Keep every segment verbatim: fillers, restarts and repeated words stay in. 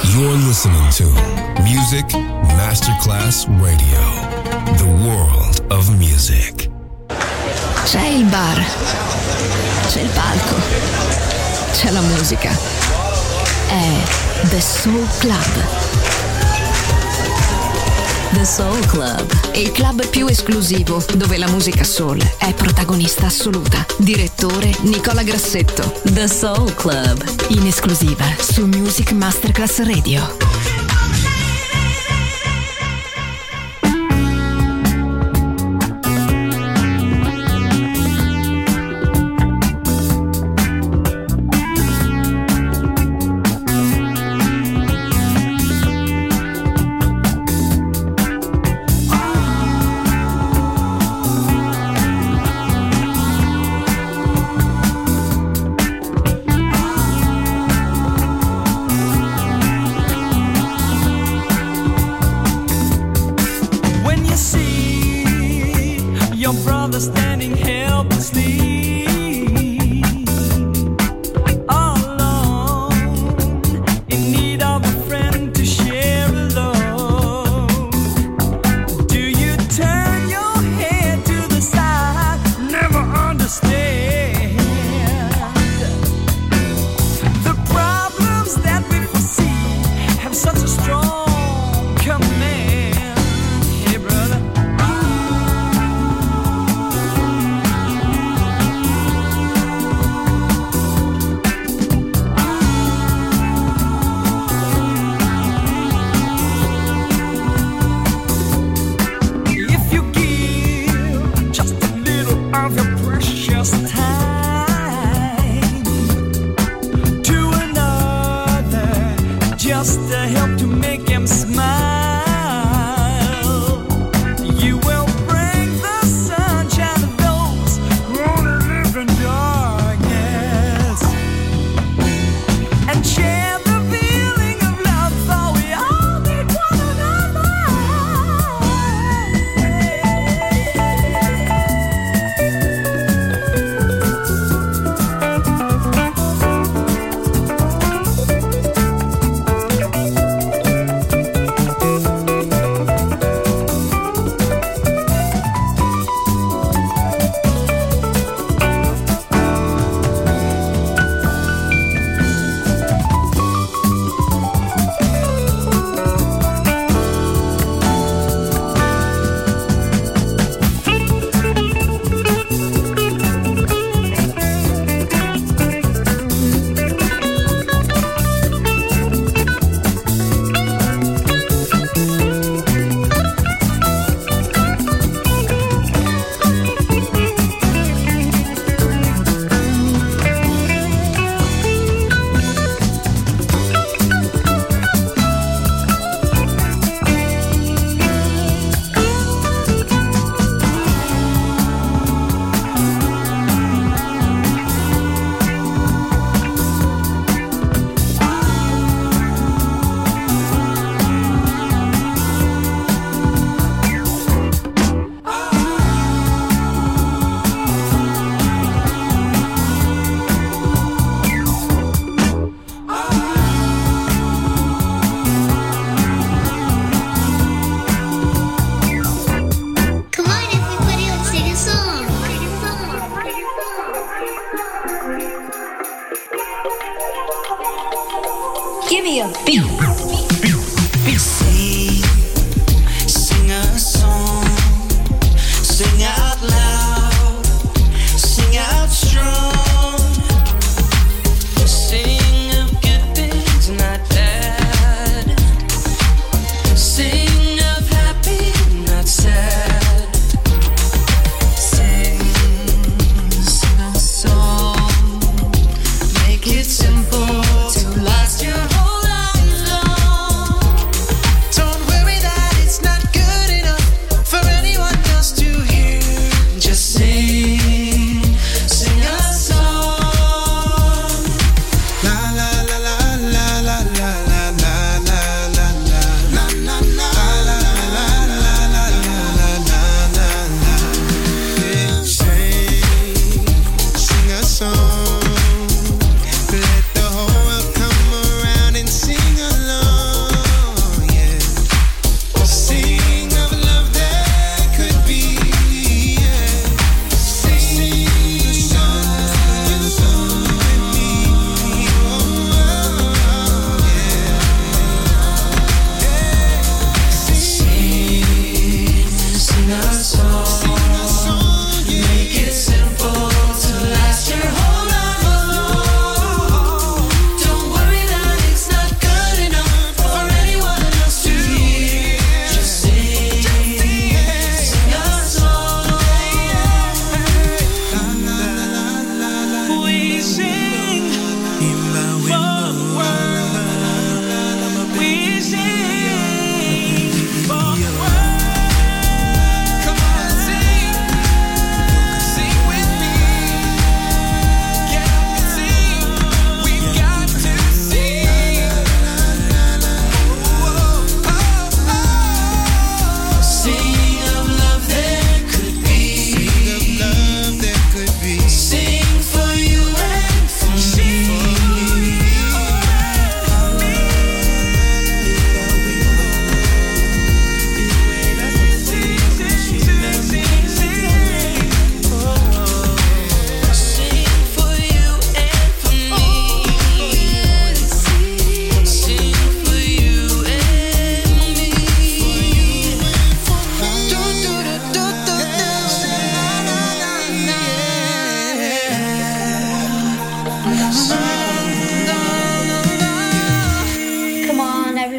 You're listening to Music Masterclass Radio, the world of music. C'è il bar, c'è il palco, c'è la musica. È The Soul Club. The Soul Club, il club più esclusivo dove la musica soul è protagonista assoluta. Direttore Nicola Grassetto. The Soul Club, in esclusiva su Music Masterclass Radio. Give me a beat. Sing, sing a song, sing out loud, sing out strong, sing of good things not bad, sing of happy not sad, sing, sing a song, make it simple to last your whole life long.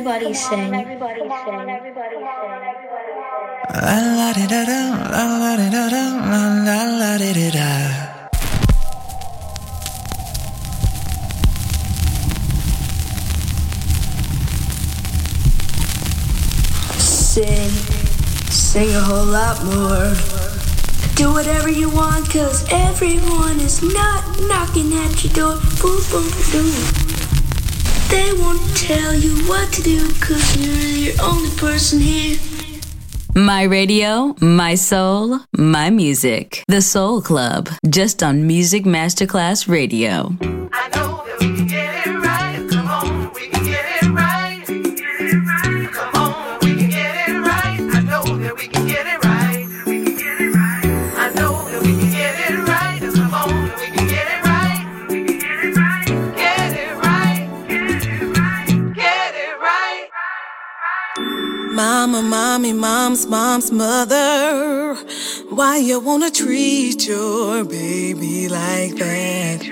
everybody sing. Everybody sing. Everybody sing. La la di da da, la la di da da, la la di di da. Sing, sing a whole lot more. Do whatever you want, cause everyone is not knocking at your door. Boom, boom, boom. They won't tell you what to do, cause you're the only person here. My radio, my soul, my music. The Soul Club, just on Music Masterclass Radio. I know that we can get it right. Come on, we can get it right. Come on, we can get it right. I know that we can get it right. We can get it right. I know that we can get it right. Come on, we can get it right. We can get it right. Get it right. Get it right. Get it right. Mama, mommy, mom's mom's mother. Why you wanna treat your baby like that?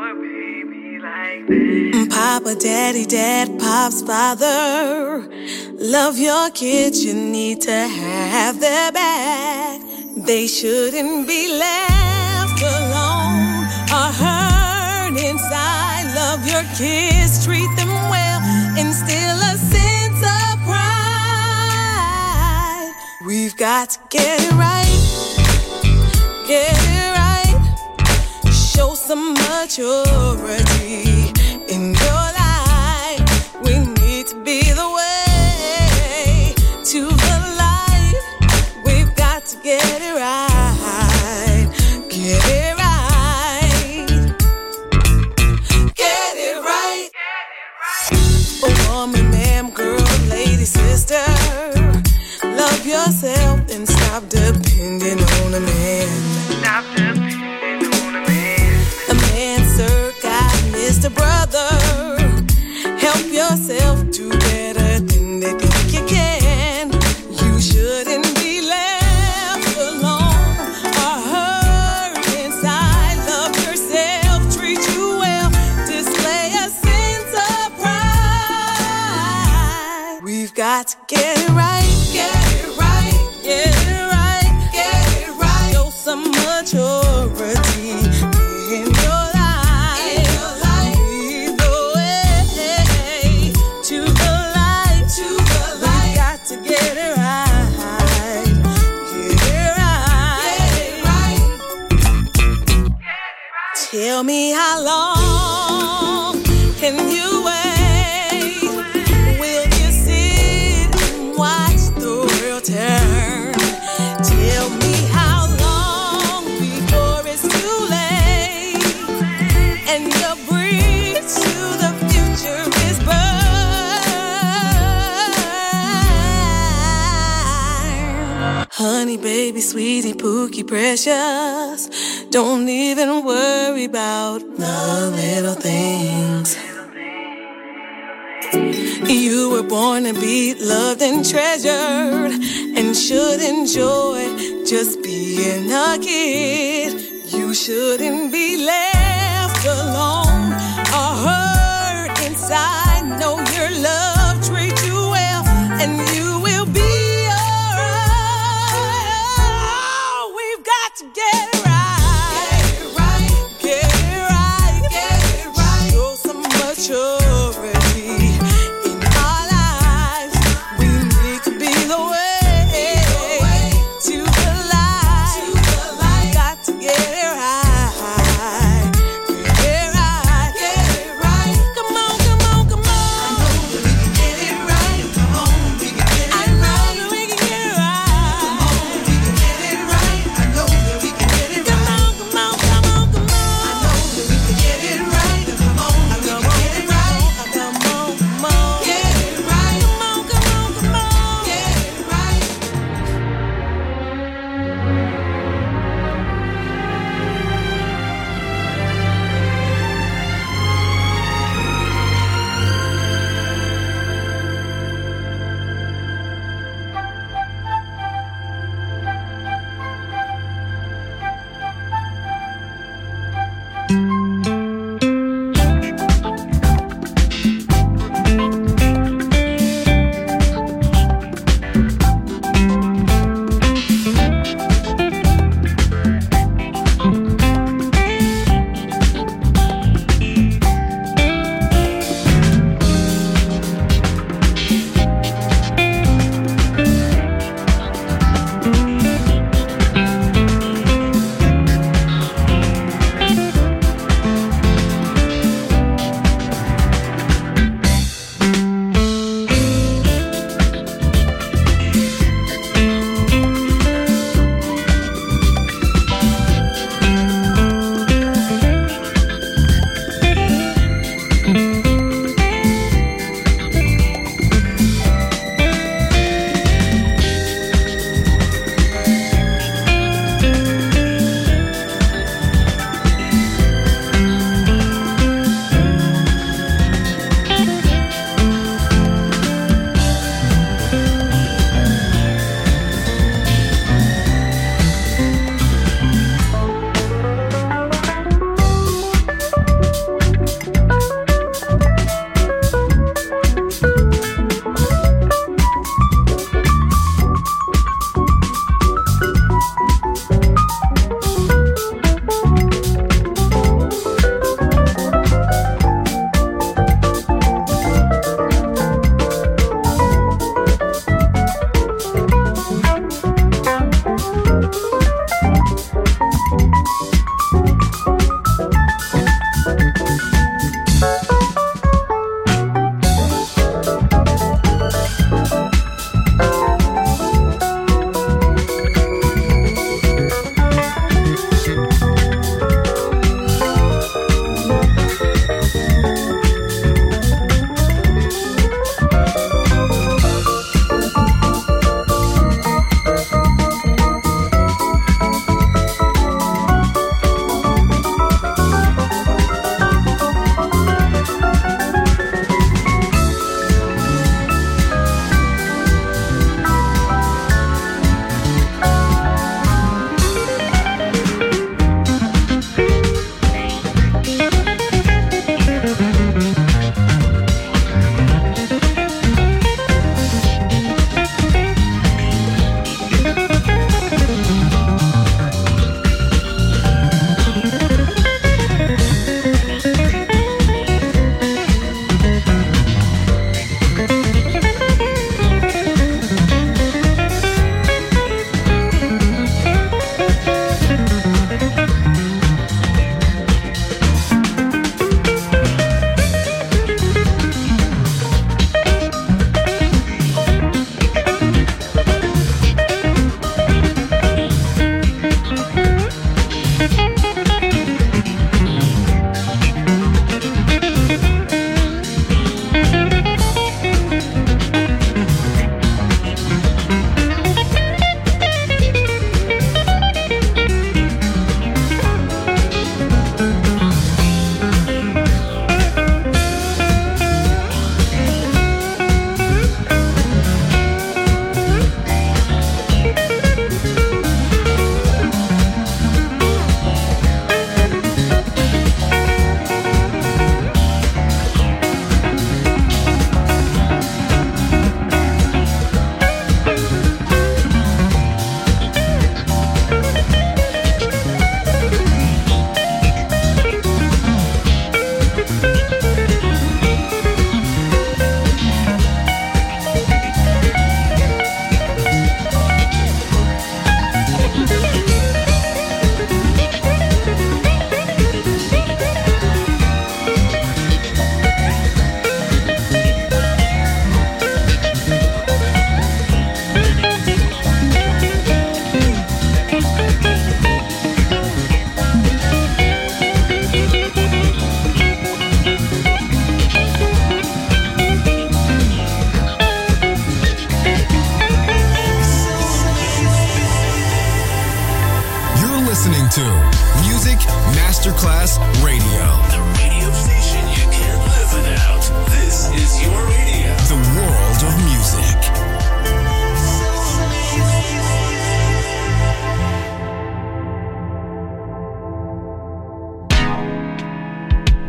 Papa, daddy, dad, pop's father. Love your kids, you need to have their back. They shouldn't be left alone or hurt inside. Love your kids, treat them well, instill a sense of pride. We've got to get it right, get it right. Show some maturity in your life. We need to be the way to the light. We've got to get it right, get it right, get it right. Oh, woman, ma'am, girl, lady, sister, love yourself and stop depending on a man. Stop depending on a man. A man, sir, God, Mister Brother, help yourself do better than they think you can. You shouldn't be left alone or hurt inside. Love yourself, treat you well, display a sense of pride. We've got to get it right, get it right, get it right, get it right. Show some maturity in your life. In your life. Lead the way to the light, to the light. We got to get it right, get it right, get it right. Tell me how long can you wait? Will you sit and watch the world turn? Tell me how long before it's too late and your bridge to the future is burned. Honey, baby, sweetie, pookie, precious. Don't even worry about the little things. You were born to be loved and treasured and should enjoy just being a kid. You shouldn't be left alone or hurt inside. Know your love, treat you well, and you will be alright. We've got to get it right, get it right, get it right, get it right. Show some maturity in our lives. We need to be the way to the light. Got to get it right, get it right, get it right. Come on, come on, come on. I know that we can get it right. Come on, we can get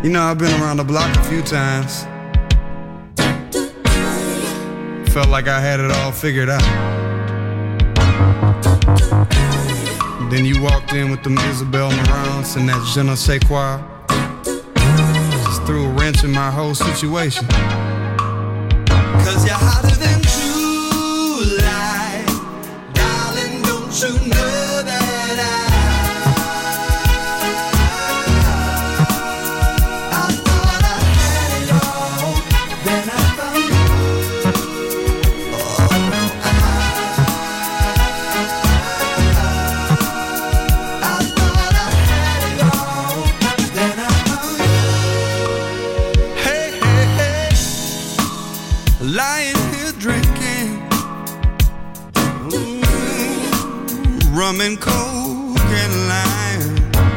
You know, I've been around the block a few times. Felt like I had it all figured out. Then you walked in with them Isabel Marants and that je ne sais quoi. Just threw a wrench in my whole situation. Cause you're hotter than July, darling, don't you know that I I thought I had it all, then I found you. Oh, I, I thought I had it all, then I found you. Hey, hey, hey, lying here drinking mm, rum and coke and lime.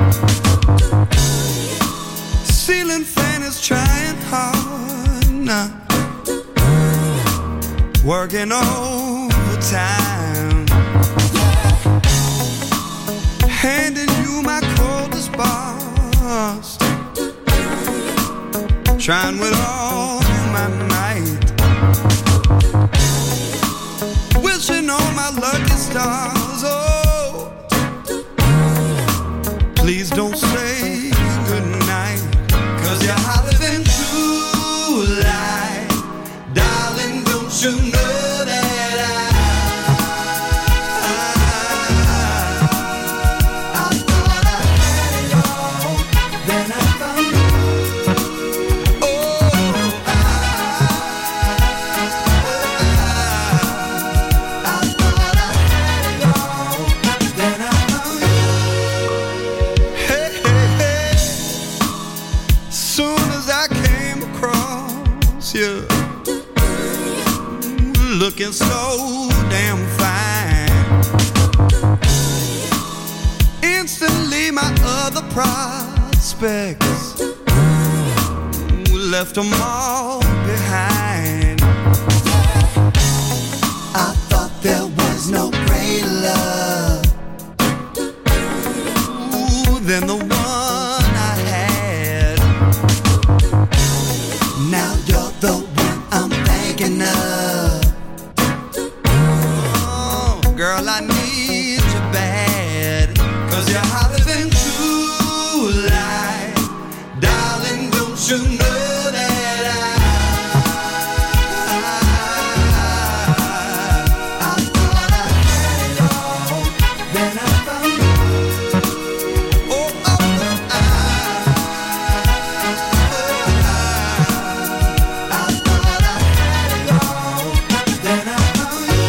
Ceiling fan is trying hard now, working overtime, handing you my coldest bars, trying with all my might, wishing on my lucky stars. Oh, please don't say goodnight, cause you're hotter than July, darling, don't you know that I I, I thought I had it all, then I found you. Oh, I, I, I thought I had it all, then I found you. Hey, hey, hey, soon as I came across you, looking so damn fine, instantly my other prospects left them all behind. I thought there was no greater love ooh, than the one I had. Now you're the one I'm thinking of. Oh, girl, I need you bad, cause you're hotter than July, darling, don't you know that I I, I thought I had it all, then I found you. Oh, oh, oh, I, I, I thought I had it all, then I found you.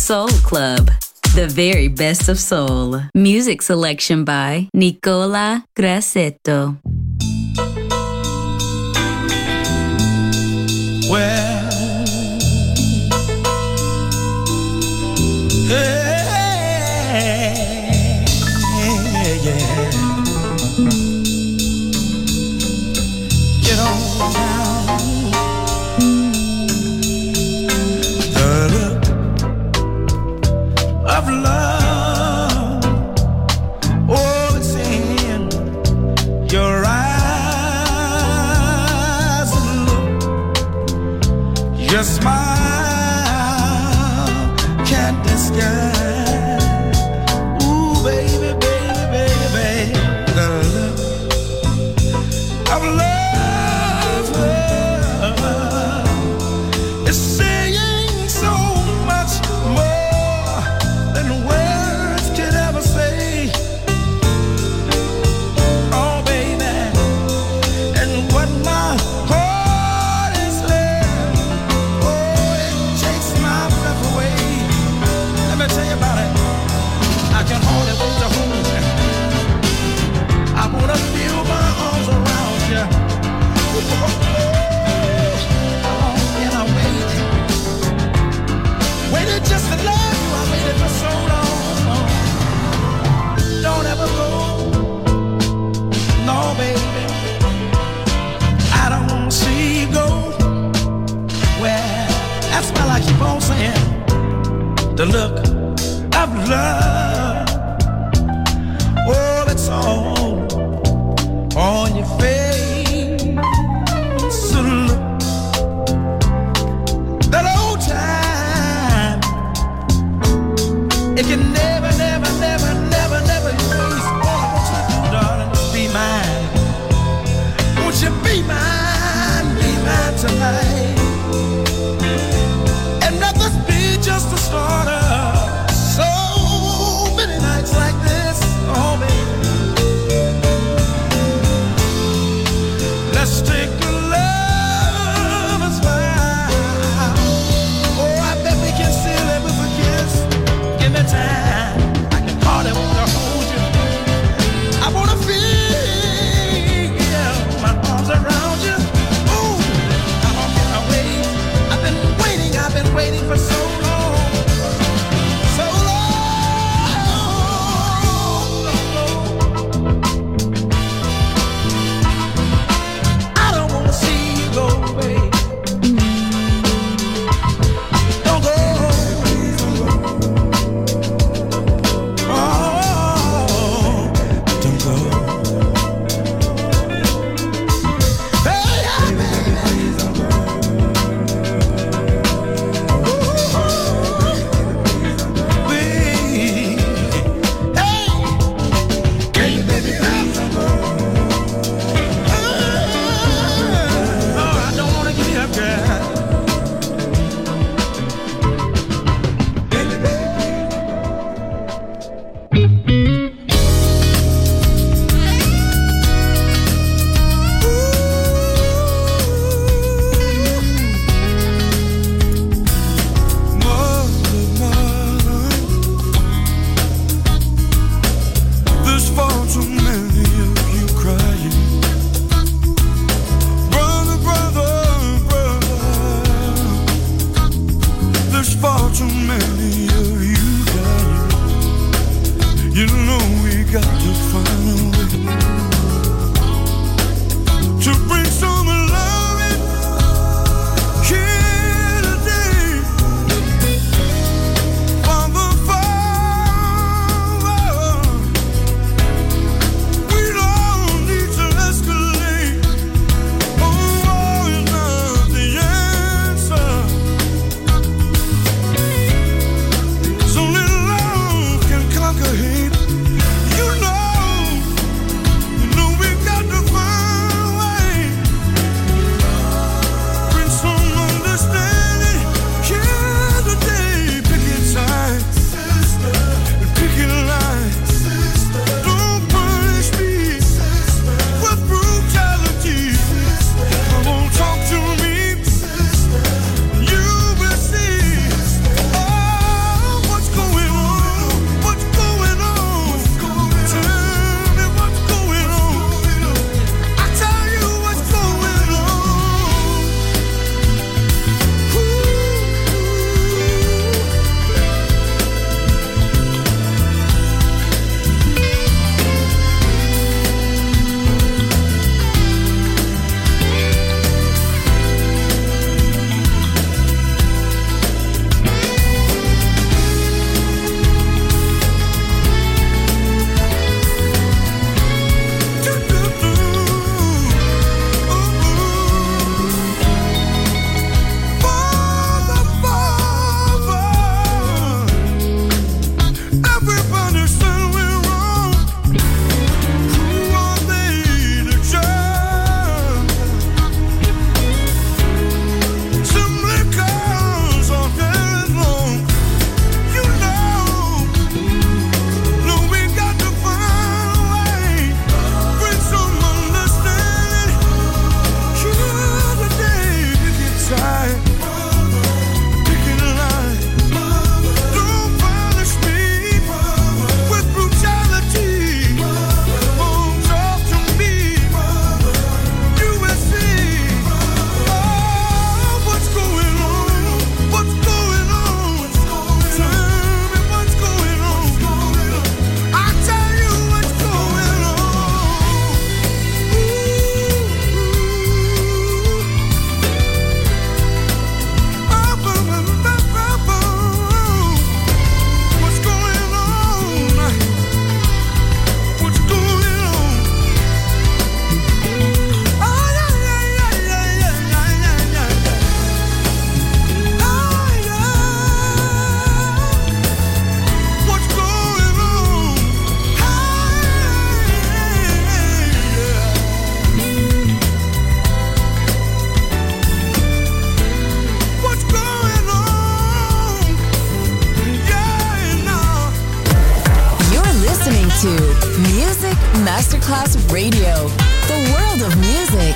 Soul Club, the very best of soul. Music selection by Nicola Grassetto. Well, hey, yeah. Get on down. The look of love, oh, it's in your eyes. Look, your smile can't disguise. Ooh, baby, baby, baby, the look of love. It's saying so much more than words could ever say. Oh, baby, and what my heart is there, oh, it takes my breath away. Let me tell you about it. I can hardly wait to hold you. I wanna feel my arms around you. How long can I wait? Waited just to love you. I waited for so long. Don't ever go. No, baby. I don't wanna see you go. Well, that's why I keep on saying the look of love. Oh, it's all on your face. So look, that old time, it can never, never, never, never, never erase. All I want you to do, darling, is be mine. Won't you be mine, be mine tonight? And let this be just the start of so many nights like this. Oh, baby. Let's take a lover's vow. Oh, I bet we can seal it with a kiss. Give me time. I can hardly want to hold you. I want to feel my arms around you. Ooh, how long can I wait? I've been waiting, I've been waiting for so long. So long. I don't want to see you go away. Don't go. Oh, don't go. Hey, yeah, baby, please don't go. Hey, hey, baby, please don't go. Oh, I don't wanna give you up, girl. Baby, baby. Mother, mother, there's far too many of you crying. Brother, brother, brother, there's far too many of you dying. You know we got to find a way to bring some love in here today. Father, Father, we don't need to escalate. Oh, war is not the answer. So little love can conquer hate. You know, you know we got to find a way Masterclass Radio, the world of music.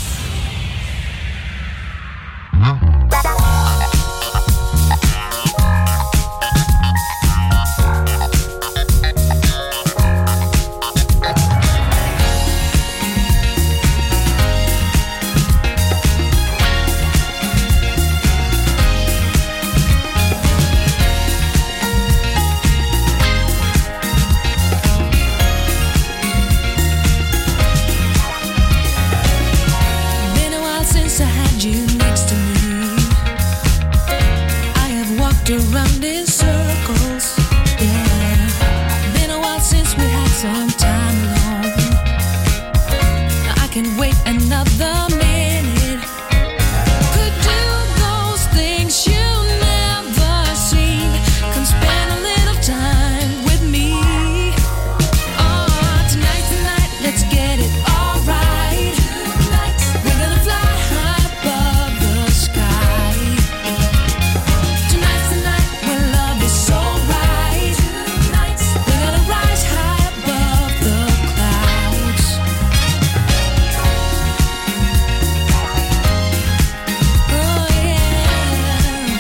Around in circles, yeah. Been a while since we had some time alone. I can wait another minute. Could do those things you never seen. Come spend a little time with me. Oh, tonight, tonight, let's get it alright. We're gonna fly high above the sky. Tonight, tonight, when love is so right. We're gonna rise high above the clouds. Oh yeah.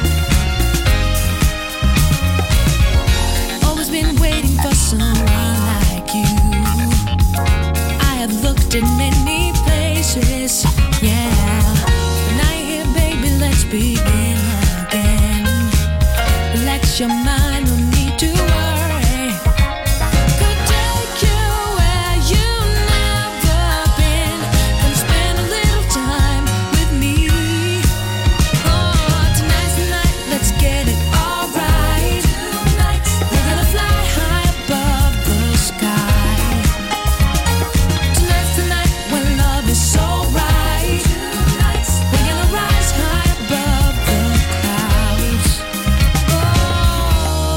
Always been waiting for someone like you. I have looked in many places, yeah. But now you're here, baby, let's begin again. Relax your mind, no need to worry. Could take you where you've never been. Come spend a little time with me. Oh, tonight's the night, let's get it alright. We're gonna fly high above the sky. Tonight's the night when love is so right. We're gonna rise high above the clouds. Oh,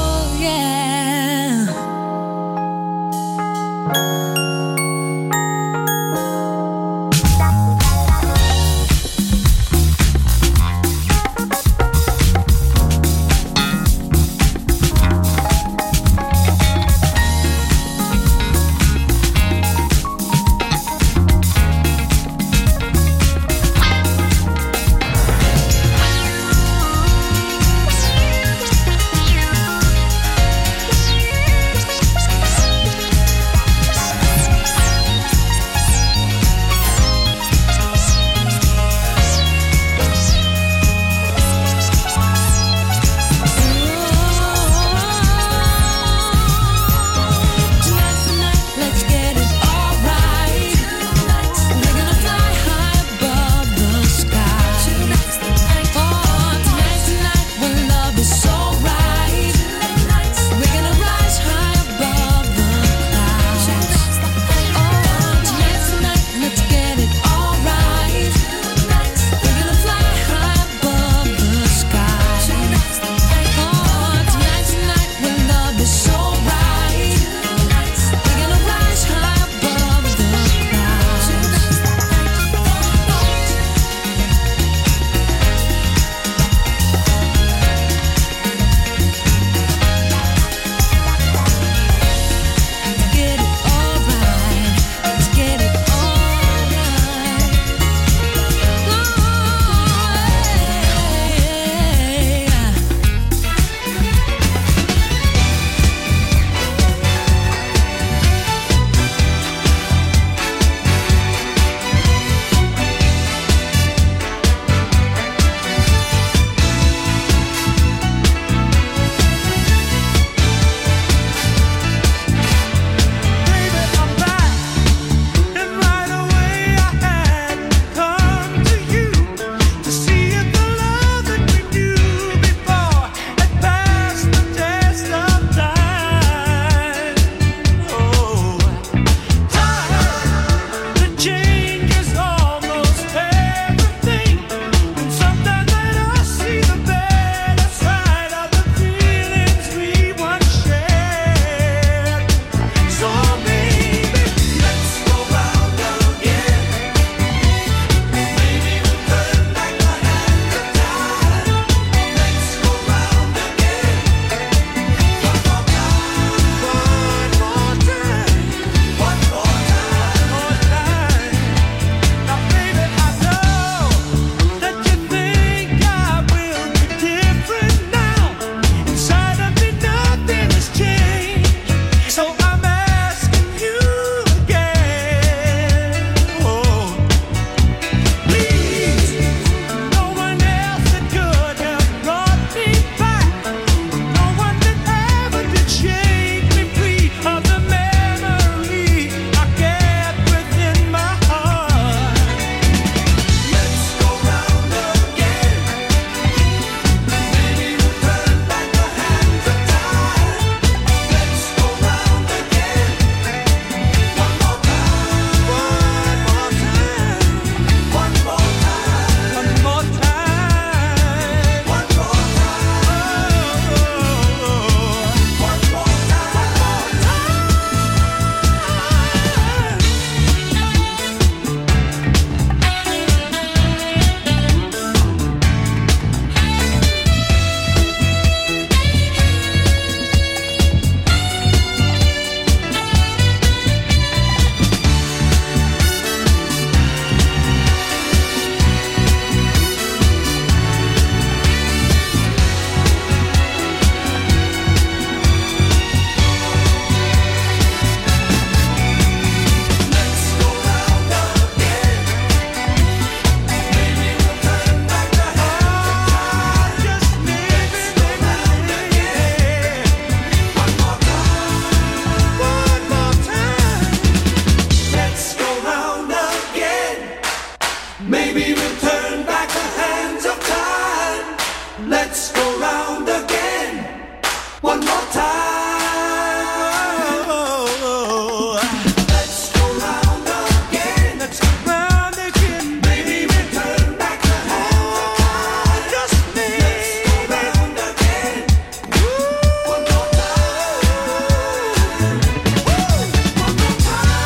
Let's go round again. One more time. Let's go round again. Let's go round again. Baby, return back the hands of time. Just me. Let's go round again. One more time. One more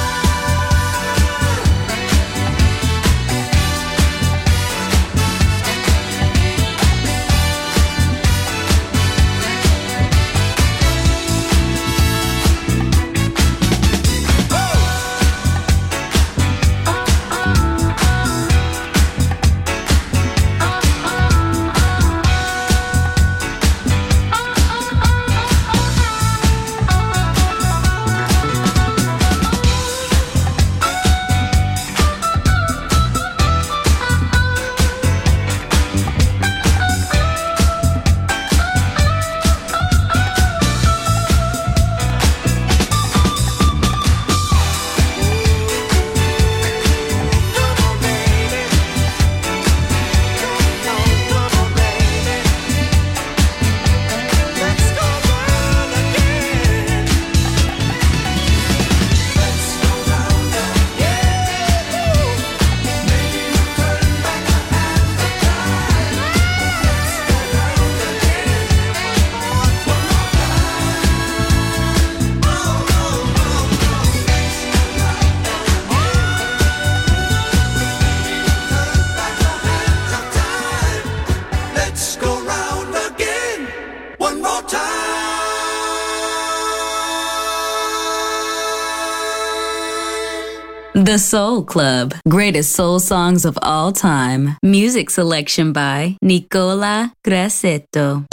The Soul Club. Greatest soul songs of all time. Music selection by Nicola Grassetto.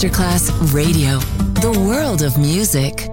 Masterclass Radio, the world of music.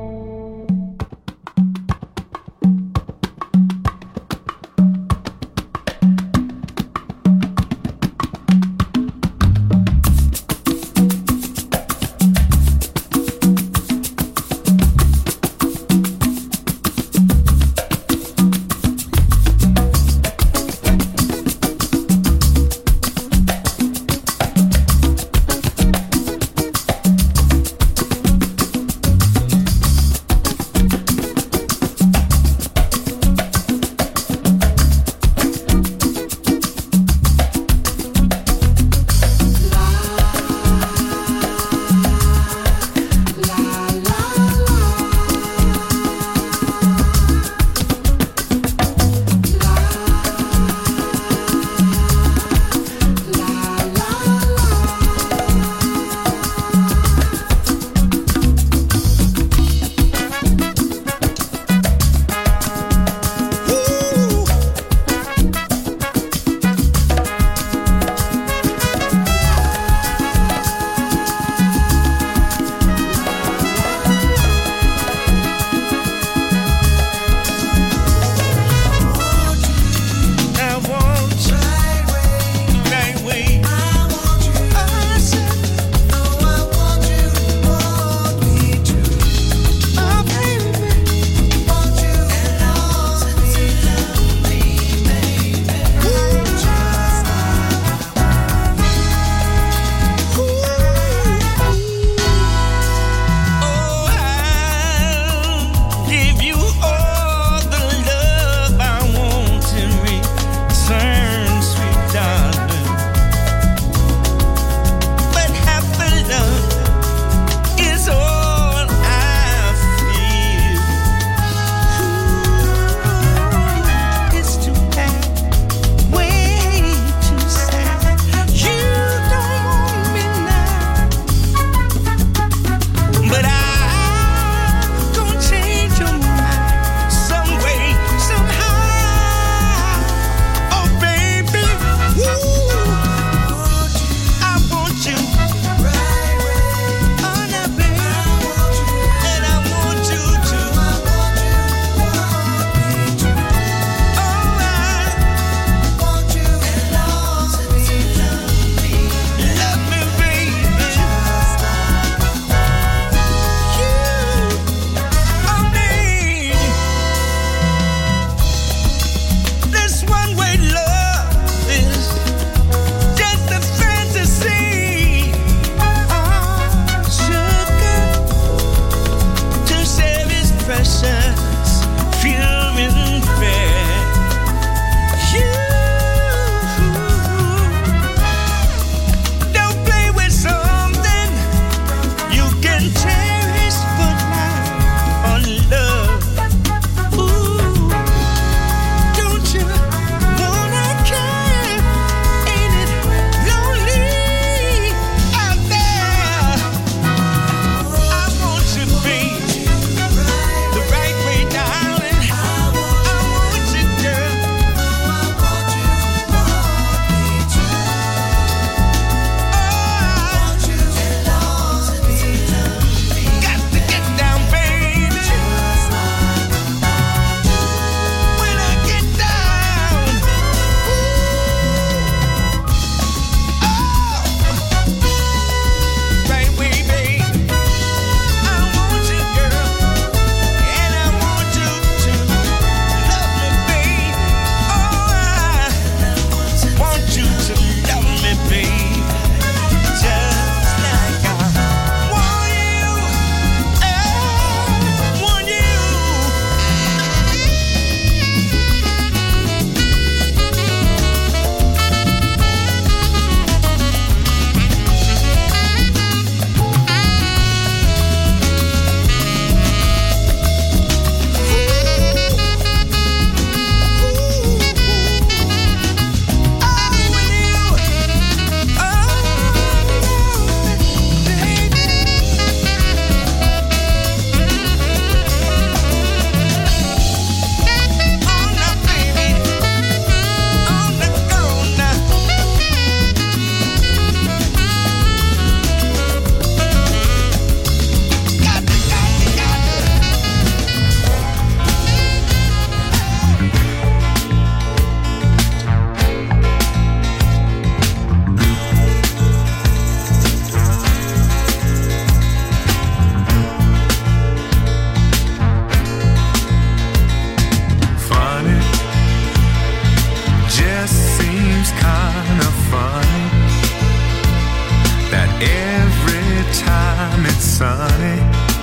honey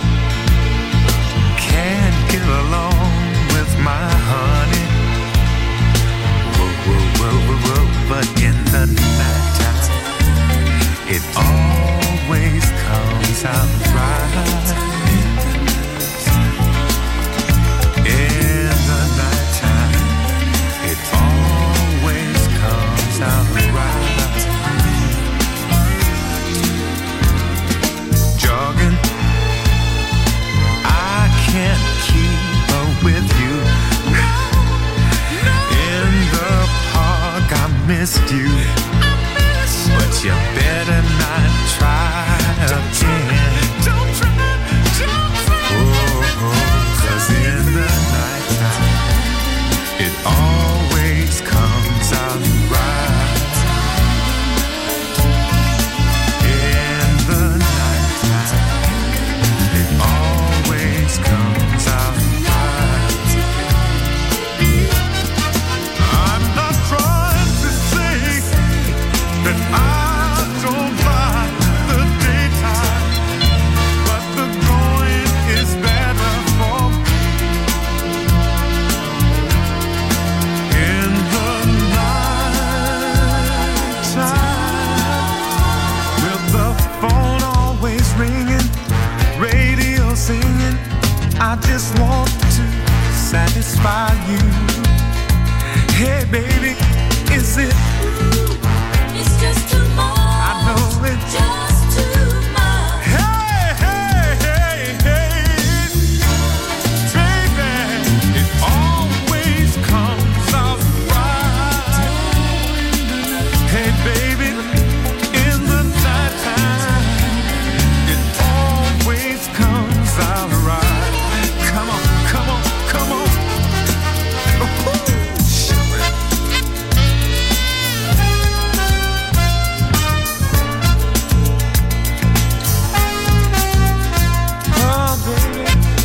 can't get along with my honey. Whoa, whoa, whoa, whoa, whoa. But in the nighttime, it always comes out right. In the nighttime, it always comes out right. Jogging, I can't keep up with you. In the park, I missed you, but you better not try again. Don't try, don't try. Oh, oh, 'cause in the nighttime, it always comes out right. In the nighttime, it always comes out right. I'm not trying to say that I don't like the daytime, but the going is better for me. In the nighttime, with the phone always ringing, radio singing, I just want to satisfy you. Hey baby, is it? It's just too much. I know it's Just too much. Hey, hey, hey, hey, baby, it always comes out right. Hey, baby, in the nighttime, it always comes out right. Come on, come on, come on. Ooh, oh, baby.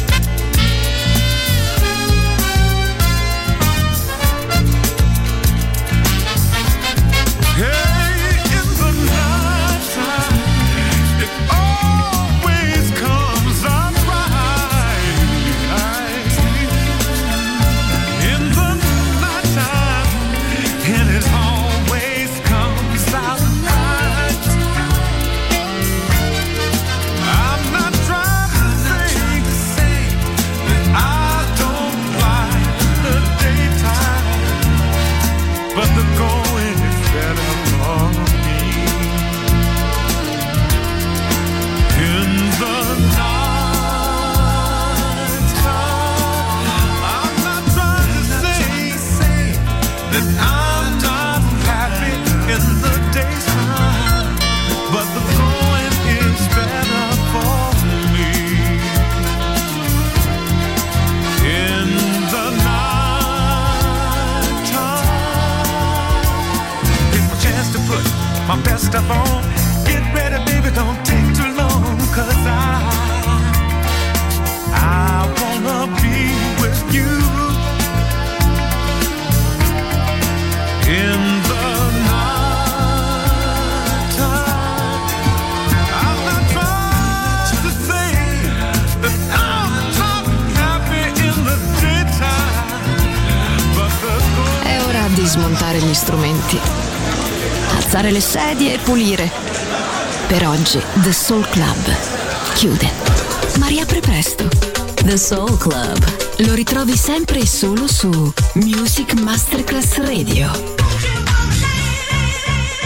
Hey, in the nighttime, it always comes out right. In the nighttime, and it always comes out right. I'm not trying to say that I don't like the daytime, but the going is better for me. In the nighttime, I'm not trying to say that I'm not happy in the daytime, but the going is better for me. In the nighttime, it's my chance to put my best stuff on. Get ready, baby, don't take too long, 'cause I I wanna be with you. In the nighttime, I'm not trying to say that I'm not happy in the daytime, but the good. È ora di smontare gli strumenti, alzare le sedie e pulire. Per oggi The Soul Club chiude, ma riapre presto. The Soul Club lo ritrovi sempre e solo su Music Masterclass Radio.